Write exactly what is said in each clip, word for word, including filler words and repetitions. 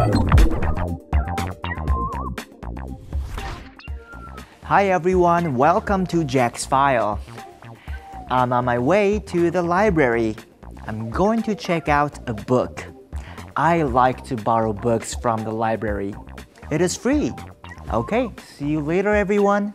Hi everyone, welcome to Jack's File. I'm on my way to the library. I'm going to check out a book. I like to borrow books from the library. It is free. Okay, see you later everyone.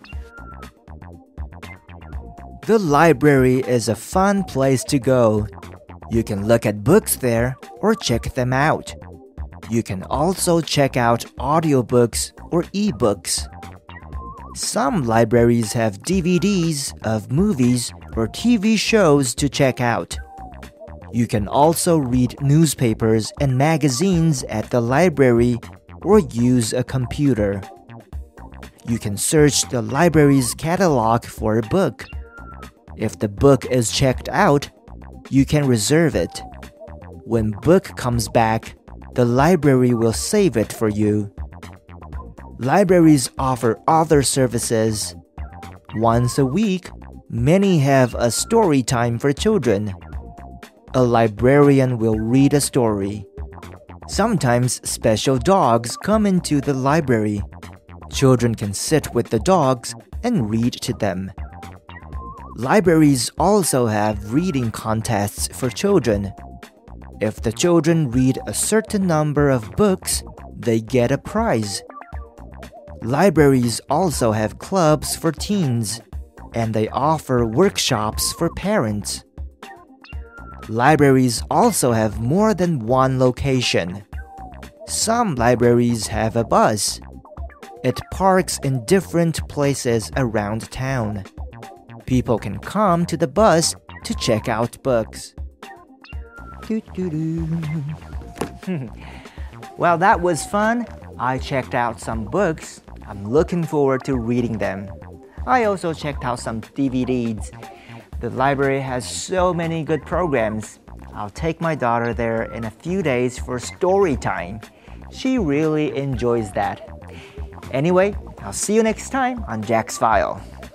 The library is a fun place to go. You can look at books there or check them out. You can also check out audiobooks or ebooks. Some libraries have D V Ds of movies or T V shows to check out. You can also read newspapers and magazines at the library or use a computer. You can search the library's catalog for a book. If the book is checked out, you can reserve it. When book comes back, the library will save it for you. Libraries offer other services. Once a week, many have a story time for children. A librarian will read a story. Sometimes special dogs come into the library. Children can sit with the dogs and read to them. Libraries also have reading contests for children. If the children read a certain number of books, they get a prize. Libraries also have clubs for teens, and they offer workshops for parents. Libraries also have more than one location. Some libraries have a bus. It parks in different places around town. People can come to the bus to check out books. Well, that was fun. I checked out some books. I'm looking forward to reading them. I also checked out some D V Ds. The library has so many good programs. I'll take my daughter there in a few days for story time. She really enjoys that. Anyway, I'll see you next time on Jack's File.